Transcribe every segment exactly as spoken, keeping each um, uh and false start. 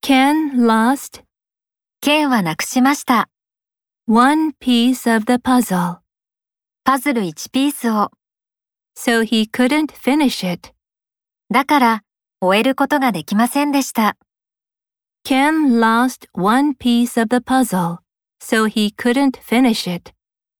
Ken lost Ken はなくしました。 one piece of the puzzle, パズルいちピースを。 so he couldn't finish it. だから、終えることができませんでした。 Ken lost one piece of the puzzle, so he couldn't finish it.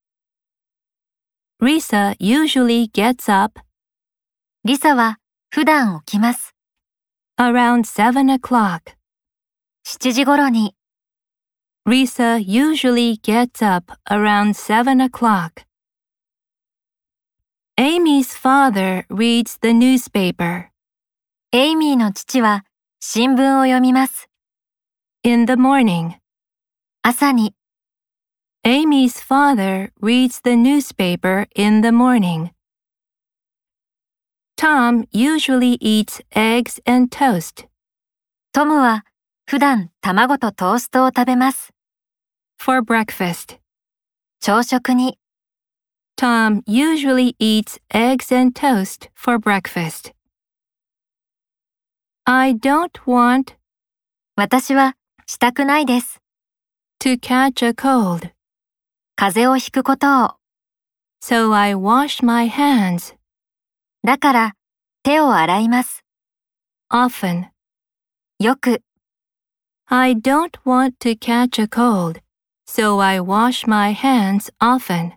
Risa usually gets up リサは普段起きます。 around seven o'clock. しちじ頃に。 Risa usually gets up around seven o'clock. Amy's father reads the newspaper エイミーの父は新聞を読みます。 in the morning. 朝に。 Amy's father reads the newspaper in the morning. Tom usually eats eggs and toast トムは普段卵とトーストを食べます。 for breakfast. 朝食に。 Tom usually eats eggs and toast for breakfast. I don't want 私はしたくないです。 to catch a cold, 風邪をひくことを。 so I wash my hands だから手を洗います。 often. よく。 I don't want to catch a cold, so I wash my hands often.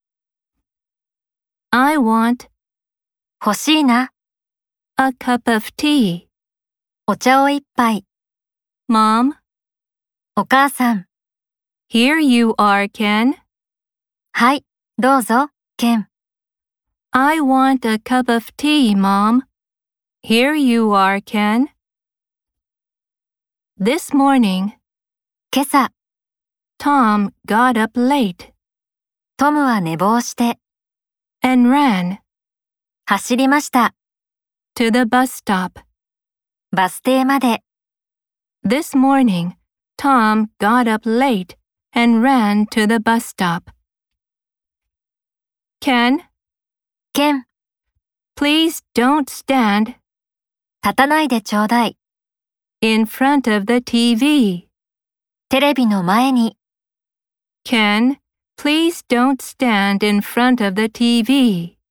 I want 欲しいな。 a cup of tea. お茶を一杯。 Mom, お母さん。 here you are, Ken. はい、どうぞ、ケン。 I want a cup of tea, Mom. Here you are, Ken. This morning, 今朝、 Tom got up late トムは寝坊して、 and ran 走りました。 to the bus stop. バス停まで。 This morning, Tom got up late and ran to the bus stop. Ken, ケン、 please don't stand 立たないでちょうだい。 in front of the T V. テレビの前に。 Ken, please don't stand in front of the T V.